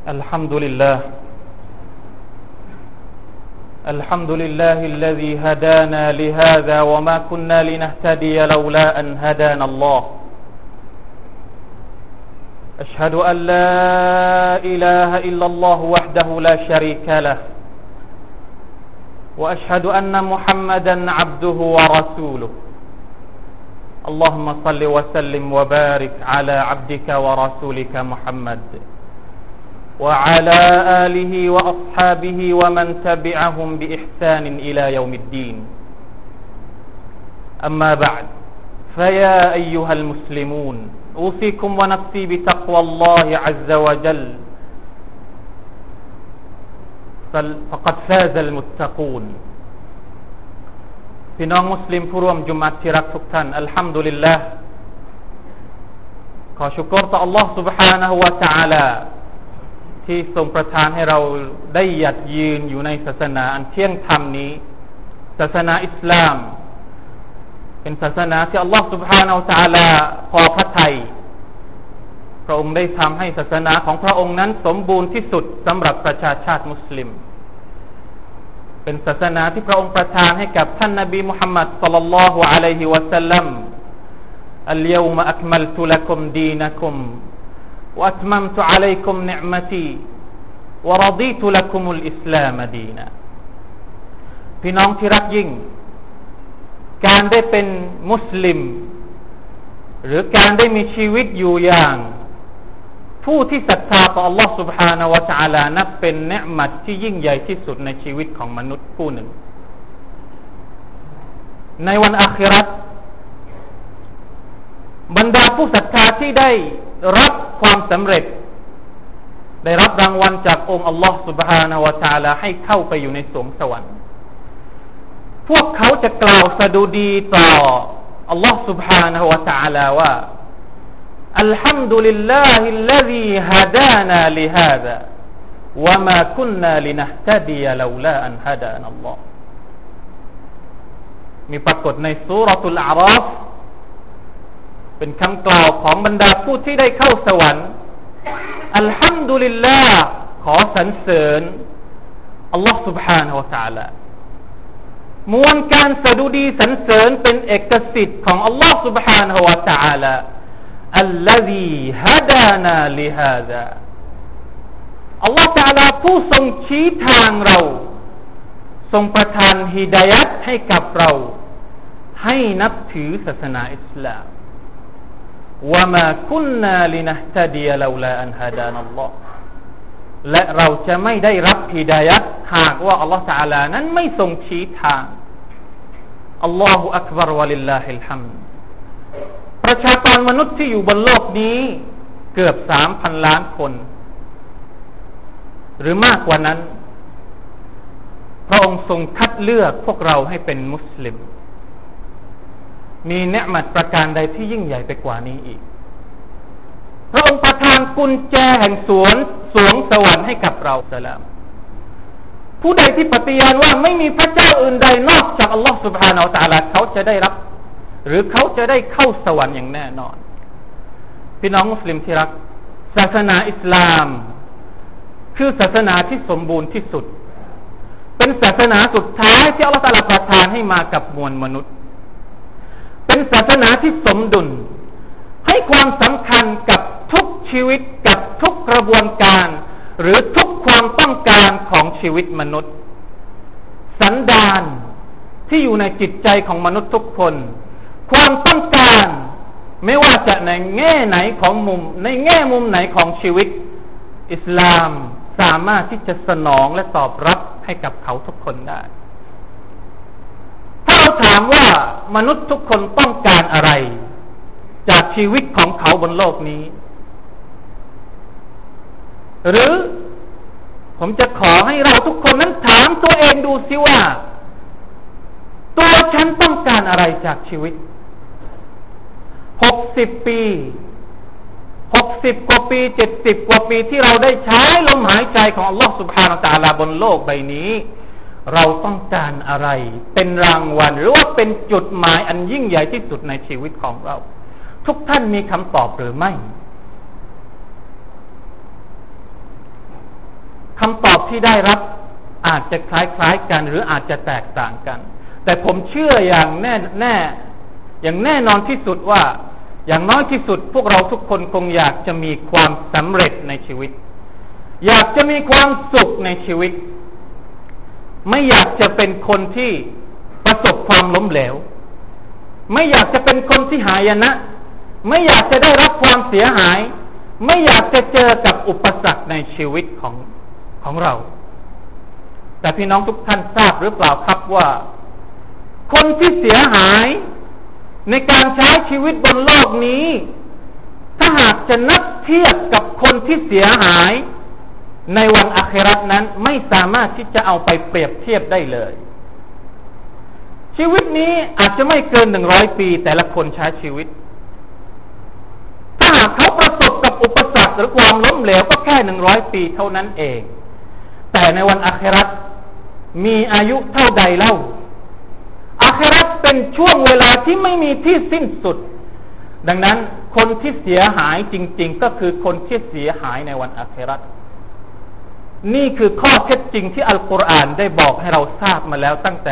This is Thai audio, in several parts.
الحمد لله الحمد لله الذي هدانا لهذا وما كنا لنهتدي لولا أن هدانا الله أشهد أن لا إله إلا الله وحده لا شريك له وأشهد أن محمدا عبده ورسوله اللهم صل وسلم وبارك على عبدك ورسولك محمد وعلى آله وأصحابه ومن تبعهم بإحسان إلى يوم الدين أما بعد فيا أيها المسلمون أوصيكم ونفسي بتقوى الله عز وجل فقد فاز المتقونพี่น้องมุสลิมผู้ร่วมจุมอะห์ที่รักทุกท่านอัลฮัมดุลิลลาห์ขอชุกรต่อ Allah سبحانه และ تعالى ที่ทรงประทานให้เราได้หยัดยืนอยู่ในศาสนาอันเที่ยงธรรมนี้ศาสนาอิสลามเป็นศาสนาที่ Allah سبحانه และ تعالى พอพระทัยพระองค์ได้ทำให้ศาสนาของพระองค์นั้นสมบูรณ์ที่สุดสำหรับประชาชาติมุสลิมเป็นศาสนาที่พระองค์ประทานให้กับท่านนบีมุฮัมมัดศ็อลลัลลอฮุอะลัยฮิวะซัลลัมอัลยอมะอักมัลตุละกุมดีนะกุมวะอัตมัมตุอะลัยกุมนิอ์มะตีวะรฎีตุละกุมุลอิสลามดีนะพี่น้องที่รักยิ่งการได้เป็นมุสลิมหรือการได้มีชีวิตอยู่อย่างผู้ที่ศรัทธาต่อ Allah سبحانه และ تعالى นับเป็นเนือ์มัตที่ยิ่งใหญ่ที่สุดในชีวิตของมนุษย์ผู้หนึ่งในวันอาคิเราะห์บรรดาผู้ศรัทธาที่ได้รับความสำเร็จได้รับรางวัลจากองค์ Allah سبحانه และ تعالى ให้เข้าไปอยู่ในสวงสวรรค์พวกเขาจะกล่าวสดุดีต่อ Allah سبحانه และ تعالى ว่าالحمد لله الذي هدانا لهذا وما كنا لنهتدي لولا أن هدانا الله มีปรากฏในซูเราะตุลอาราฟเป็นคำกล่าวของบรรดาผู้ที่ได้เข้าสวรรค์อัลฮัมดุลิลลาห์ขอสรรเสริญอัลลอฮฺ سبحانه และ تعالى มวลการสดุดีสรรเสริญเป็นเอกสิทธิ์ของอัลลอฮฺ سبحانه และ تعالى الذي هدانا لهذا อัลลอฮฺ تعالى ผู้ทรงชี้ทางเราทรงประทานฮิดายัตให้กับเราให้นับถือศาสนาอิสลามวะมาคุนนาลินะฮ์ตะดียะลาลาอันฮะดานัลลอฮ์และเราจะไม่ได้รับฮิดายัตหากว่าอัลลอฮฺ تعالى นั้นไม่ทรงชี้ทางอัลลอฮุอักบัรวะลิลลาฮิลฮัมด์ประชากรมนุษย์ที่อยู่บนโลกนี้เกือบ 3,000 ล้านคนหรือมากกว่านั้นพระองค์ทรงคัดเลือกพวกเราให้เป็นมุสลิมมีเนือ์มัตประการใดที่ยิ่งใหญ่ไปกว่านี้อีกพระองค์ประทานกุญแจแห่งสวงสวรรค์ให้กับเราสลามผู้ใดที่ปฏิญาณว่าไม่มีพระเจ้าอื่นใดนอกจากอัลลอฮฺ سبحانه และ تعالى เขาจะได้รับหรือเขาจะได้เข้าสวรรค์อย่างแน่นอนพี่น้องมุสลิมที่รักศาสนาอิสลามคือศาสนาที่สมบูรณ์ที่สุดเป็นศาสนาสุดท้ายที่อัลเลาะห์ตะอาลาประทานให้มากับมวลมนุษย์เป็นศาสนาที่สมดุลให้ความสำคัญกับทุกชีวิตกับทุกกระบวนการหรือทุกความต้องการของชีวิตมนุษย์สันดานที่อยู่ในจิตใจของมนุษย์ทุกคนความต้องการไม่ว่าจะในแง่ไหนของในแง่มุมไหนของชีวิตอิสลามสามารถที่จะสนองและตอบรับให้กับเขาทุกคนได้ถ้าเราถามว่ามนุษย์ทุกคนต้องการอะไรจากชีวิตของเขาบนโลกนี้หรือผมจะขอให้เราทุกคนนั้นถามตัวเองดูสิว่าตัวฉันต้องการอะไรจากชีวิต60 ปี60 กว่าปี70 กว่าปีที่เราได้ใช้ลมหายใจของอัลลอฮฺ سبحانه และ تعالى บนโลกใบนี้เราต้องการอะไรเป็นรางวัลหรือว่าเป็นจุดหมายอันยิ่งใหญ่ที่สุดในชีวิตของเราทุกท่านมีคำตอบหรือไม่คำตอบที่ได้รับอาจจะคล้ายๆกันหรืออาจจะแตกต่างกันแต่ผมเชื่ออย่างแน่นอนที่สุดว่าอย่างน้อยที่สุดพวกเราทุกคนคงอยากจะมีความสำเร็จในชีวิตอยากจะมีความสุขในชีวิตไม่อยากจะเป็นคนที่ประสบความล้มเหลวไม่อยากจะเป็นคนที่หายนะไม่อยากจะได้รับความเสียหายไม่อยากจะเจอกับอุปสรรคในชีวิตของเราแต่พี่น้องทุกท่านทราบหรือเปล่าครับว่าคนที่เสียหายในการใช้ชีวิตบนโลกนี้ถ้าหากจะนับเทียบกับคนที่เสียหายในวันอาคิเราะห์นั้นไม่สามารถที่จะเอาไปเปรียบเทียบได้เลยชีวิตนี้อาจจะไม่เกิน100 ปีแต่ละคนใช้ชีวิตถ้าหากเขาประสบกับอุปสรรคหรือความล้มเหลวก็แค่100 ปีเท่านั้นเองแต่ในวันอาคิเราะห์มีอายุเท่าใดเล่าอาคิเราะห์เป็นช่วงเวลาที่ไม่มีที่สิ้นสุดดังนั้นคนที่เสียหายจริงๆก็คือคนที่เสียหายในวันอาคิเราะห์นี่คือข้อเท็จจริงที่อัลกุรอานได้บอกให้เราทราบมาแล้วตั้งแต่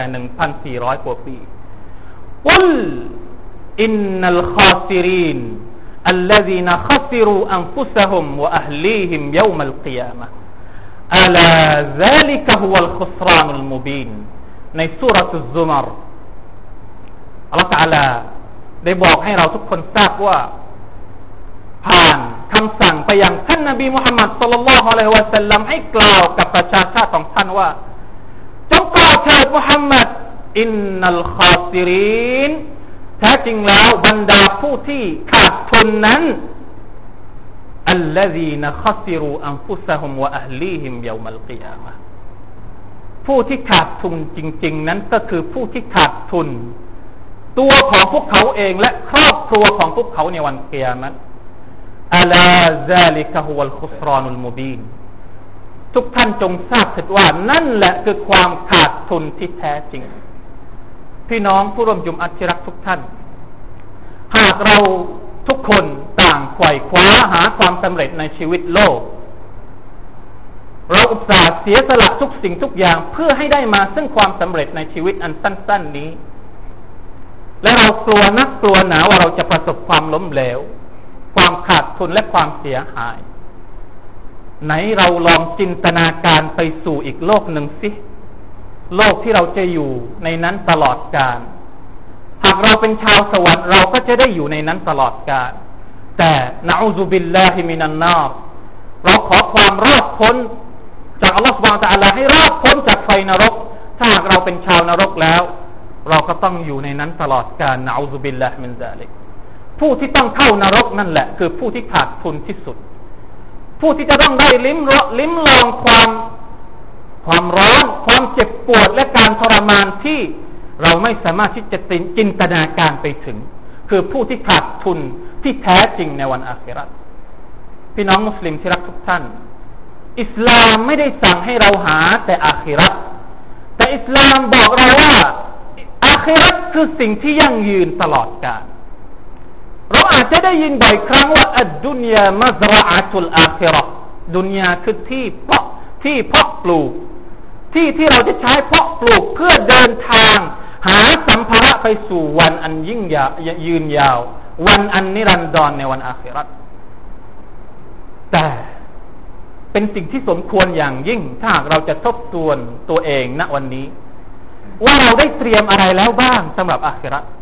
1,400 กว่าปีกุลอินนัลคาซิรินอัลลซีนคัซิรูอันฟุซะฮุมวะอะฮลีฮิมยอมัลกิยามะฮ์อะลาซาลิกะฮุวัลคุสรานุลมุบีนในซูเราะตุซซุมารอัลเลาะห์ตะอาลาได้บอกให้เราทุกคนทราบว่าผ่านคำสั่งไปยังท่านนบีมุฮัมมัดศ็อลลัลลอฮุอะลัยฮิวะซัลลัมให้กล่าวกับประชาชาติของท่านว่าจงกล่าวเถิดมุฮัมมัดอินนัลคาซิรินแท้จริงแล้วบรรดาผู้ที่ขาดทุนนั้นอัลลซีนคัซิรูอันฟุซะฮุมวะอะฮลีฮิมยอมัลกิยามะฮ์ผู้ที่ขาดทุนจริงๆนั้นก็คือผู้ที่ขาดทุนตัวของพวกเขาเองและครอบครัวของพวกเขาในวันกิยามะฮ์อะลาซาลิกะฮุวัลคุสรานุลมุบีนทุกท่านจงทราบเถิดว่านั่นแหละคือความขาดทุนที่แท้จริงพี่น้องผู้ร่วมจุมอะห์ที่รักทุกท่านหากเราทุกคนต่างไขว่คว้าหาความสำเร็จในชีวิตโลกเราอุตส่าห์เสียสละทุกสิ่งทุกอย่างเพื่อให้ได้มาซึ่งความสำเร็จในชีวิตอันสั้นๆนี้และเรากลัวนักกลัวหนาว่าเราจะประสบความล้มเหลวความขาดทุนและความเสียหายไหนเราลองจินตนาการไปสู่อีกโลกหนึ่งสิโลกที่เราจะอยู่ในนั้นตลอดกาลหากเราเป็นชาวสวรรค์เราก็จะได้อยู่ในนั้นตลอดกาลแต่นะอูซุบิลลาฮิมินันนารเราขอความรอดพ้นจากอัลลอฮฺซุบฮานะฮูวะตะอาลาให้รอดพ้นจากไฟนรกถ้าหากเราเป็นชาวนรกแล้วเราก็ต้องอยู่ในนั้นตลอดกาลนะอูซุบิลลาฮิมินซาลิกผู้ที่ต้องเข้านรกนั่นแหละคือผู้ที่ขาดทุนที่สุดผู้ที่จะต้องได้ลิ้มลองความร้อนความเจ็บปวดและการทรมานที่เราไม่สามารถที่จะจินตนาการไปถึงคือผู้ที่ขาดทุนที่แท้จริงในวันอาคิเราะห์พี่น้องมุสลิมที่รักทุกท่านอิสลามไม่ได้สั่งให้เราหาแต่อาคิเราะห์แต่อิสลามบอกเราว่าอาคิเราะห์คือสิ่งที่ยั่งยืนตลอดกาลเราอาจจะได้ยินบ่อยครั้งว่าอัดดุนยามัซรอะตุลอาคิเราะห์ดุนยาคือที่เพาะปลูกที่เราจะใช้เพาะปลูกเพื่อเดินทางหาสัมภาระไปสู่วันอันยิ่งยาวยืนยาววันอันนิรันดรในวันอาคิเราะห์แต่เป็นสิ่งที่สมควรอย่างยิ่งถ้าหากเราจะทบทวนตัวเองณวันนี้ว่าเราได้เตรียมอะไรแล้วบ้างสำหรับอาคิเราะห์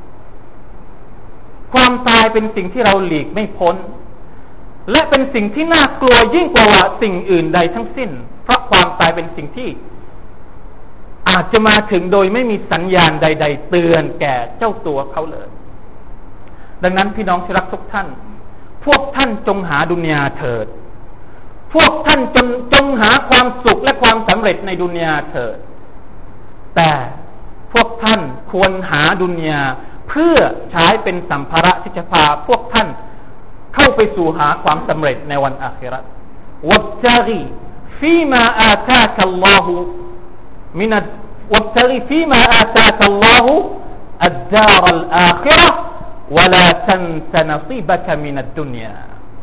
ความตายเป็นสิ่งที่เราหลีกไม่พ้นและเป็นสิ่งที่น่ากลัวยิ่งกว่าสิ่งอื่นใดทั้งสิ้นเพราะความตายเป็นสิ่งที่อาจจะมาถึงโดยไม่มีสัญญาณใดๆเตือนแก่เจ้าตัวเขาเลยดังนั้นพี่น้องที่รักทุกท่านพวกท่านจงหาดุนยาเถิดพวกท่านจงหาความสุขและความสำเร็จในดุนยาเถิดแต่พวกท่านควรหาดุนยาเพื่อใช้เป็นสัมภาระที่จะพาพวกท่านเข้าไปสู่หาความสำเร็จในวันอาคิเราะห์วับตะกีฟีมาอาตากัลลอฮุมินัดวับตะกีฟีมาอาตากัลลอฮุอัดดารัลอาคิเราะห์วะลาตันซะนซีบะกะมินัดดุนยาพ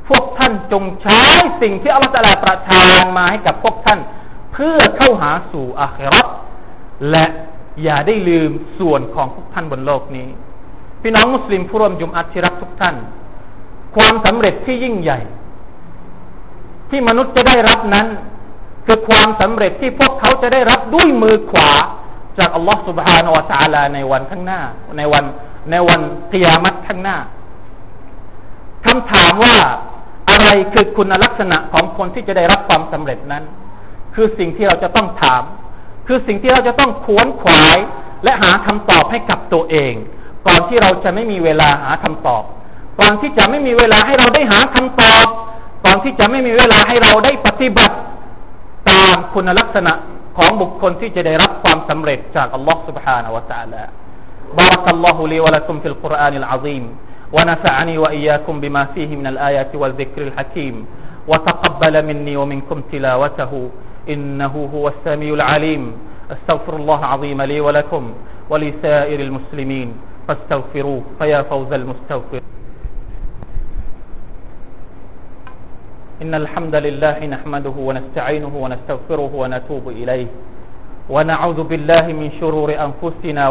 พวกท่านจงใช้สิ่งที่อัลลอฮฺตะอาลาประทานมาให้กับพวกท่านเพื่อเข้าหาสู่อาคิเราะห์และอย่าได้ลืมส่วนของพวกท่านบนโลกนี้พี่น้องมุสลิมผู้ร่วมจุมอะห์ที่รักทุกท่านความสำเร็จที่ยิ่งใหญ่ที่มนุษย์จะได้รับนั้นคือความสำเร็จที่พวกเขาจะได้รับด้วยมือขวาจากอัลลอฮฺ سبحانه และ تعالى ในวันข้างหน้าในวันกิยามะฮ์ข้างหน้าคำถามว่าอะไรคือคุณลักษณะของคนที่จะได้รับความสำเร็จนั้นคือสิ่งที่เราจะต้องถามคือสิ่งที่เราจะต้องขวนขวายและหาคำตอบให้กับตัวเองก่อนที่เราจะไม่มีเวลาหาคำตอบก่อนที่จะไม่มีเวลาให้เราได้หาคำตอบก่อนที่จะไม่มีเวลาให้เราได้ปฏิบัติตามคุณลักษณะของบุคคลที่จะได้รับความสำเร็จจากอัลลอฮฺ سبحانه และ تعالى بارك الله لي ولكم في القرآن العظيم ونفعني وإياكم بما فيه من الآيات والذكر الحكيم وتقبل مني ومنكم تلاوته إنه هو السميع العليم استغفر الله العظيم لي ولكم ولسائر المسلمين فاستغفروه فيا فوز المستغفر إن الحمد لله نحمده ونستعينه ونستغفره ونتوب إليه ونعوذ بالله من شرور أنفسنا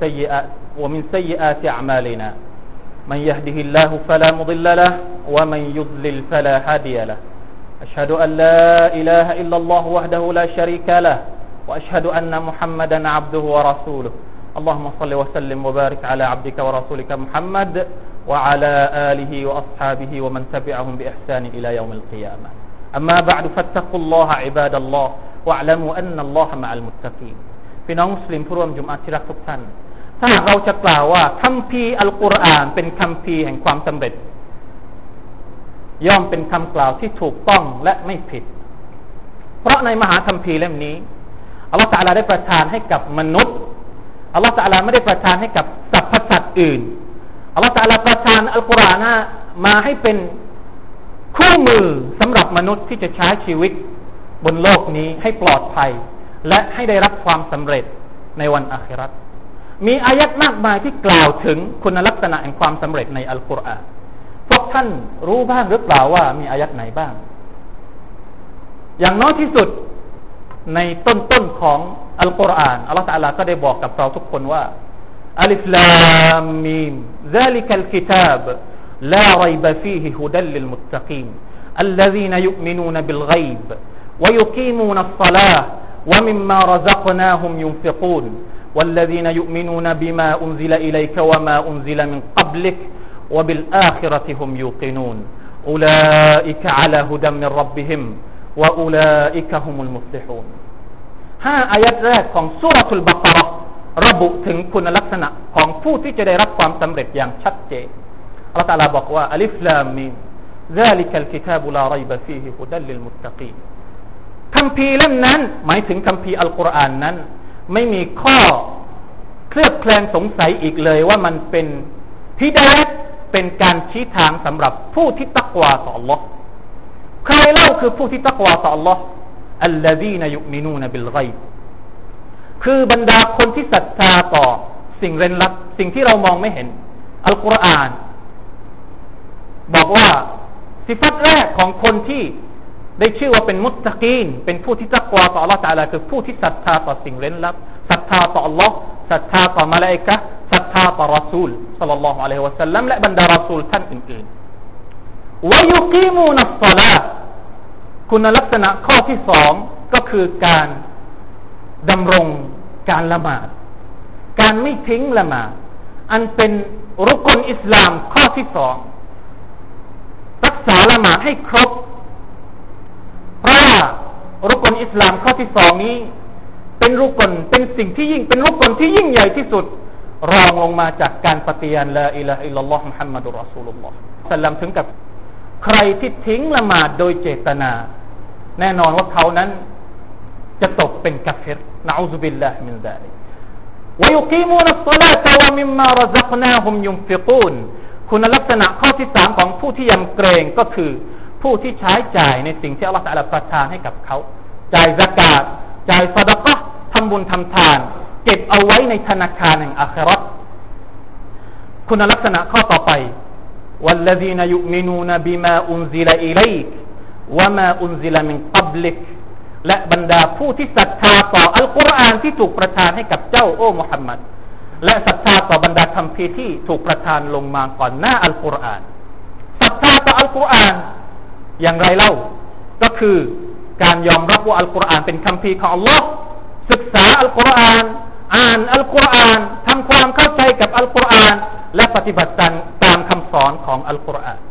ومن سيئات أعمالنا من يهده الله فلا مضل له ومن يضلل فلا هادي له أشهد أن لا إله إلا الله وحده لا شريك له وأشهد أن محمدا عبده ورسوله اللهم صل وسلم وبارك على عبدك ورسولك محمد وعلى آله وأصحابه ومن تبعهم بإحسان إلى يوم القيامة أما بعد فاتقوا الله عباد الله واعلموا أن الله مع المتقين พี่น้องมุสลิมผู้ร่วมจุมอะห์ที่รักทุกท่านถ้าหากเราจะกล่าวว่าคัมภีร์อัลกุรอานเป็นคัมภีร์แห่งความสำเร็จย่อมเป็นคำกล่าวที่ถูกต้องและไม่ผิดเพราะในมหาคัมภีร์เล่มนี้อัลลอฮฺตะอาลาได้ประทานให้กับมนุษย์อัลลอฮฺตะอาลาไม่ได้ประทานให้กับสรรพสัตว์อื่นอัลลอฮฺตะอาลาประทานอัลกุรอานมาให้เป็นคู่มือสำหรับมนุษย์ที่จะใช้ชีวิตบนโลกนี้ให้ปลอดภัยและให้ได้รับความสำเร็จในวันอาคิเราะห์มีอายัดมากมายที่กล่าวถึงคุณลักษณะแห่งความสำเร็จในอัลกุรอานพวกท่านรู้บ้างหรือเปล่าว่ามีอายัดไหนบ้างอย่างน้อยที่สุดในต้นของอัลกุรอานอัลลอฮฺตะอาลาก็ได้บอกกับเราทุกคนว่าอัลิฟลามมีม ذلك الكتاب لا ريب فيه هدى للمتقين الذين يؤمنون بالغيب ويقيمون الصلاة ومما رزقناهم ينفقون والذين يؤمنون بما أنزل إليك وما أنزل من قبلك وبالآخرة هم يوقنون أولئك على هدى من ربهم وأولئك هم المفلحون 5 อายัดแรกของซูเราะตุลบะเกาะฮ์ระบุถึงคุณลักษณะของผู้ที่จะได้รับความสำเร็จอย่างชัดเจนอัลเลาะห์ตะอาลาบอกว่าอัลิฟลามมีม ذلك الكتاب لا ريب فيه هدى للمتقين คัมภีร์เล่มนั้นหมายถึงคัมภีร์อัลกุรอานนั้นไม่มีข้อเคลือบแคลงสงสัยอีกเลยว่ามันเป็นฮิดายะห์เป็นการชี้ทางสำหรับผู้ที่ตักวาต่อ Allah ใครเล่าคือผู้ที่ตักวาต่อ Allah อัลลซีนยุมินูนบิลฆอยบคือบรรดาคนที่ศรัทธาต่อสิ่งเร้นลับสิ่งที่เรามองไม่เห็นอัลกุรอานบอกว่าสิฟัตแรกของคนที่ได้ชื่อว่าเป็นมุตตะกีนเป็นผู้ที่ตักวาต่อ Allah ตะอาลาคือผู้ที่ศรัทธาต่อสิ่งเร้นลับศรัทธาต่อ Allah ศรัทธาต่อมลาอิกะฮ์ศรัทธาต่อรอซูลศ็อลลัลลอฮุอะลัยฮิวะซัลลัมและบรรดารอซูลท่านอื่นๆวะยุกีมูนัสศอลาฮ์คุณลักษณะข้อที่2ก็คือการดำรงการละหมาดการไม่ทิ้งละหมาดอันเป็นรุกนอิสลามข้อที่2รักษาละหมาดให้ครบเพราะว่ารุกนอิสลามข้อที่2นี้เป็นรุกนเป็นสิ่งที่ยิ่งเป็นรุกนที่ยิ่งใหญ่ที่สุดรองลงมาจากการปฏิญาณลาอิลาฮะอิลลัลลอฮุมุฮัมมัดุรรอซูลุลลอฮ์สัลลัมถึงกับใครที่ทิ้งละหมาดโดยเจตนาแน่นอนว่าเขานั้นจะตกเป็นกัฟรนะอูซุบิลลาฮิมินซาลิกวะยุกีมูนัสศอลาตะวะมิมมารซักนาฮุมยุนฟิกูนคุณลักษณะข้อที่3ของผู้ที่ยำเกรงก็คือผู้ที่ใช้จ่ายในสิ่งที่อัลเลาะห์ตะอาลาประทานให้กับเขาจ่ายซะกาตจ่ายซะดะกะห์ทำบุญทำทานเก็บเอาไว้ในธนาคารแห่งอาคิเราะห์คุณลักษณะข้อต่อไป والذين يؤمنون بما أنزل إليك وما أنزل من قبلك และบรรดาผู้ที่ศรัทธาต่ออัลกุรอานที่ถูกประทานให้กับเจ้าโอ้มุฮัมมัดและศรัทธาต่อบรรดาคัมภีร์ที่ถูกประทานลงมาก่อนหน้าอัลกุรอานศรัทธาต่ออัลกุรอานอย่างไรเล่าก็คือการยอมรับว่าอัลกุรอานเป็นคัมภีร์ของอัลลอฮ์ศึกษาอัลกุรอานอ่านอัลกุรอานทำความเข้าใจกับอัลกุรอานและปฏิบัติตามคำสอนของอัลกุรอาน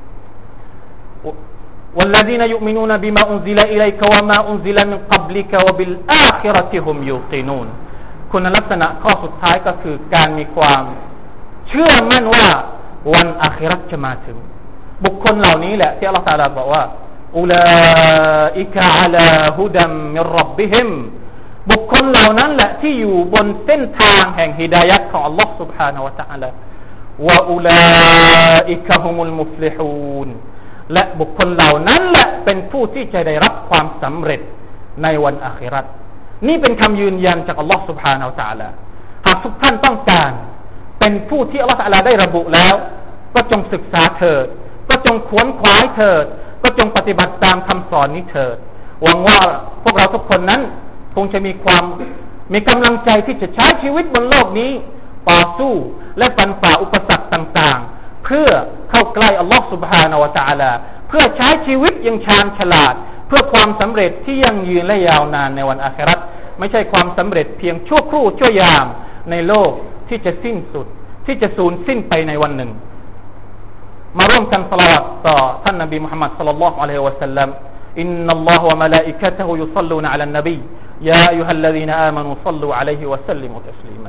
والذين يؤمنون بما أنزل إليك وما أنزل من قبلك وبالآخرة هم يوقنون คุณลักษณะข้อสุดท้ายก็คือการมีความเชื่อมั่นว่าวันอาคิเราะห์จะมาถึงบุคคลเหล่านี้แหละที่อัลเลาะห์ตะอาลาบอกว่าอุลาอิกะอะลาฮุดัมมิรร็อบบิฮิมบุคคลเหล่านั้นแหละที่อยู่บนเส้นทางแห่งฮิดายะห์ของอัลเลาะห์ سبحانه และ تعالى วะอุลาอิกะฮุมุลมุฟลิฮูนและบุคคลเหล่านั้นแหละเป็นผู้ที่จะได้รับความสำเร็จในวันอาคิเราะห์นี่เป็นคำยืนยันจากอัลเลาะห์ سبحانه และ تعالى หากทุกท่านต้องการเป็นผู้ที่อัลเลาะห์ تعالى ได้ระบุแล้วก็จงศึกษาเถิดก็จงขวนขวายเถิดก็จงปฏิบัติตามคำสอนนี้เถิดหวังว่าพวกเราทุกคนนั้นคงจะมีกำลังใจที่จะใช้ชีวิตบนโลกนี้ต่อสู้และฟันฝ่าอุปสรรคต่างๆเพื่อเข้าใกล้อัลลอฮฺ سبحانه และ تعالى เพื่อใช้ชีวิตอย่างชาญฉลาดเพื่อความสำเร็จที่ยั่งยืนและยาวนานในวันอาคิเราะห์ไม่ใช่ความสำเร็จเพียงชั่วครู่ชั่วยามในโลกที่จะสิ้นสุดที่จะสูญสิ้นไปในวันหนึ่งมาร่วมกันศอลาวาตต่อท่านนบีมุฮัมมัดศ็อลลัลลอฮุอะลัยฮิวะซัลลัมอินนัลลอฮะวะมะลาอิกะตุฮุยุศ็อลลูนอะลันนบียาอัยยูฮัลลซีนาอามานูศ็อลลูอะลัยฮิวะซัลลิมูตัสลีมา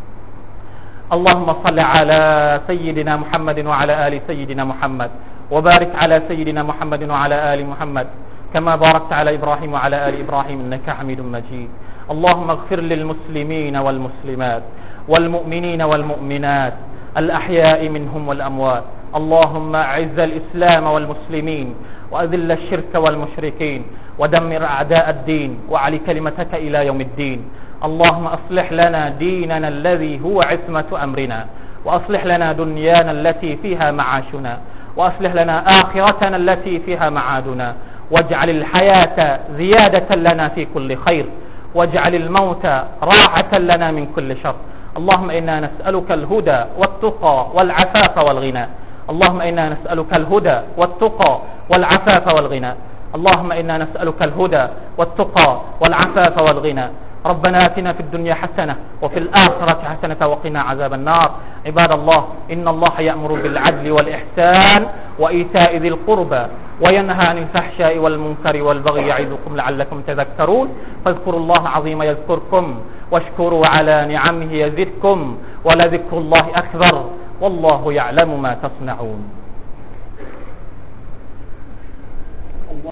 اللهم صل على سيدنا محمد وعلى آل سيدنا محمد وبارك على سيدنا محمد وعلى آل محمد كما باركت على إبراهيم وعلى آل إبراهيم إنك حميد مجيد اللهم اغفر للمسلمين والمسلمات والمؤمنين والمؤمنات الأحياء منهم والأموات اللهم أعز الإسلام والمسلمين وأذل الشرك والمشركين ودمر أعداء الدين وعلي كلمتك إلى يوم الدين اللهم أصلح لنا ديننا الذي هو عصمة أمرنا وأصلح لنا دنيانا التي فيها معاشنا وأصلح لنا آخرتنا التي فيها معادنا واجعل الحياة زيادة لنا في كل خير واجعل الموت راحة لنا من كل شر اللهم إنا نسألك الهدى والتقى والعفاف والغنى اللهم إنا نسألك الهدى والتقى والعفاف والغنى اللهم إنا نسألك الهدى والتقى والعفاف والغنى ربنا آتنا في الدنيا حسنة وفي الآخرة حسنة وقنا عذاب النار عباد الله إن الله يأمر بالعدل والإحسان وإيتاء ذي القربى وينهى عن الفحشاء والمنكر والبغي يعظكم لعلكم تذكرون فاذكروا الله العظيم يذكركم واشكروا على نعمه يزدكم ولذكر الله أكبر والله يعلم ما تصنعون